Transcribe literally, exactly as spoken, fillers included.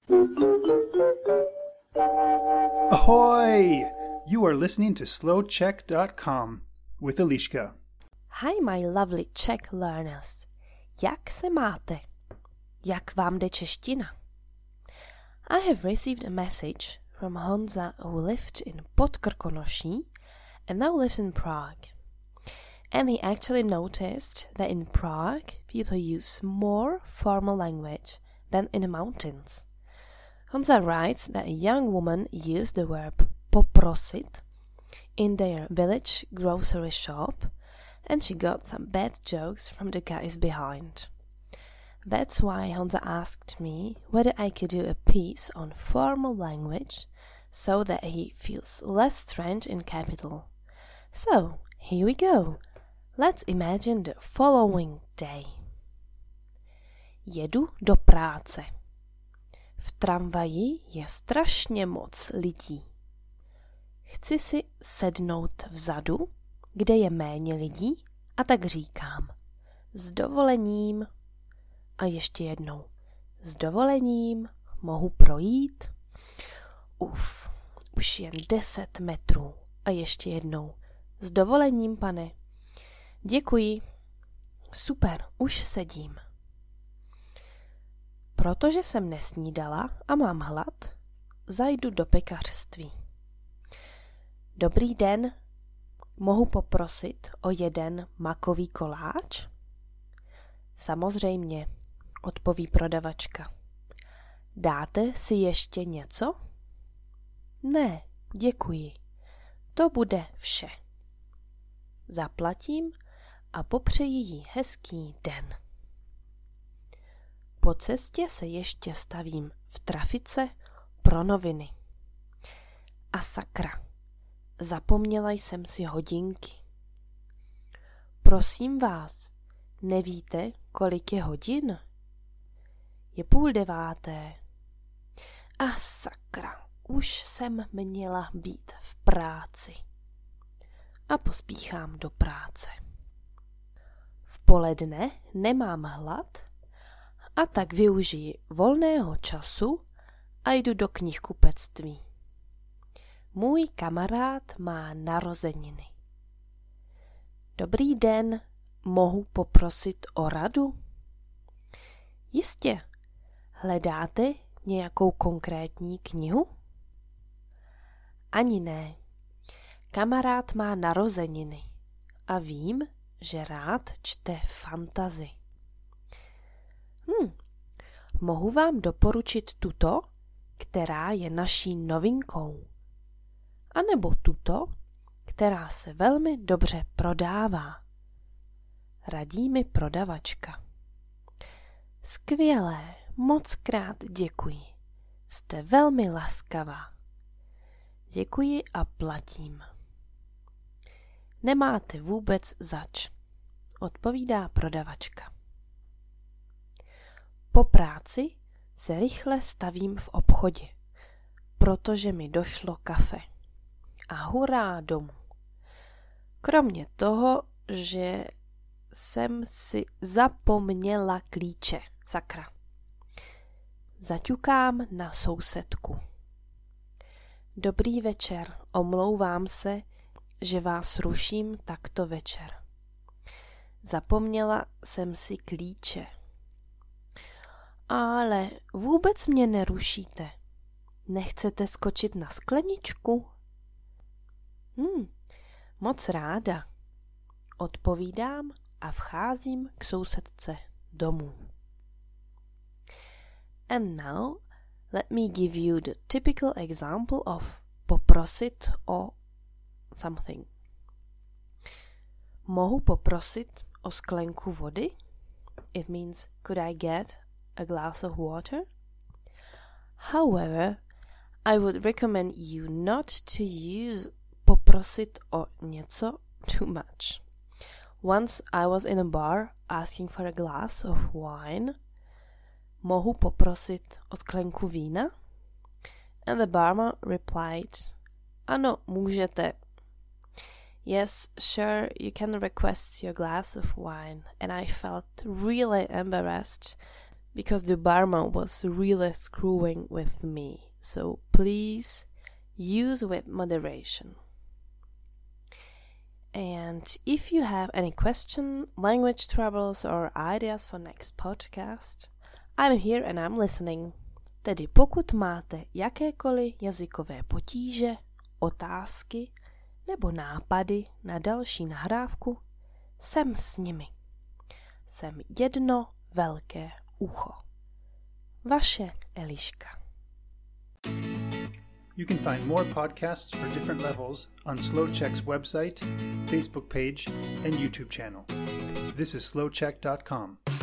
Ahoy! You are listening to slow czech dot com with Eliška. Hi, my lovely Czech learners. Jak se máte? Jak vám jde čeština? I have received a message from Honza who lived in Podkrkonoší and now lives in Prague. And he actually noticed that in Prague people use more formal language than in the mountains. Honza writes that a young woman used the verb poprosit in their village grocery shop, and she got some bad jokes from the guys behind. That's why Honza asked me whether I could do a piece on formal language so that he feels less strange in capital. So, here we go. Let's imagine the following day. Jedu do práce. V tramvaji je strašně moc lidí. Chci si sednout vzadu, kde je méně lidí, a tak říkám s dovolením a ještě jednou s dovolením mohu projít? Uf, už jen deset metrů a ještě jednou s dovolením, pane. Děkuji. Super, už sedím. Protože jsem nesnídala a mám hlad, zajdu do pekařství. Dobrý den, mohu poprosit o jeden makový koláč? Samozřejmě, odpoví prodavačka. Dáte si ještě něco? Ne, děkuji. To bude vše. Zaplatím a popřeji jí hezký den. Po cestě se ještě stavím v trafice pro noviny. A sakra, zapomněla jsem si hodinky. Prosím vás, nevíte, kolik je hodin? Je půl deváté. A sakra, už jsem měla být v práci. A pospíchám do práce. V poledne nemám hlad, a tak využiji volného času a jdu do knihkupectví. Můj kamarád má narozeniny. Dobrý den, mohu poprosit o radu? Jistě, hledáte nějakou konkrétní knihu? Ani ne. Kamarád má narozeniny a vím, že rád čte fantasy. Hm, mohu vám doporučit tuto, která je naší novinkou. A nebo tuto, která se velmi dobře prodává. Radí mi prodavačka. Skvělé, moc krát děkuji. Jste velmi laskavá. Děkuji a platím. Nemáte vůbec zač, odpovídá prodavačka. Po práci se rychle stavím v obchodě, protože mi došlo kafe. A hurá domů. Kromě toho, že jsem si zapomněla klíče, sakra. Zaťukám na sousedku. Dobrý večer, omlouvám se, že vás ruším takto večer. Zapomněla jsem si klíče. Ale vůbec mě nerušíte. Nechcete skočit na skleničku? Hm, moc ráda. Odpovídám a vcházím k sousedce domů. And now, let me give you the typical example of poprosit o something. Mohu poprosit o sklenku vody? It means, could I get a glass of water? However, I would recommend you not to use poprosit o něco too much. Once I was in a bar asking for a glass of wine. Mohu poprosit o sklenku vína? And the barman replied, ano, můžete. Yes, sure, you can request your glass of wine. And I felt really embarrassed because the barman was really screwing with me, so please use with moderation. And if you have any question, language troubles or ideas for next podcast, I'm here and I'm listening. Tedy pokud máte jakékoliv jazykové potíže, otázky nebo nápady na další nahrávku, jsem s nimi. Jsem jedno velké ucho. Vaše Eliška. You can find more podcasts for different levels on SlowCheck's website, Facebook page, and YouTube channel. This is slowcheck dot com.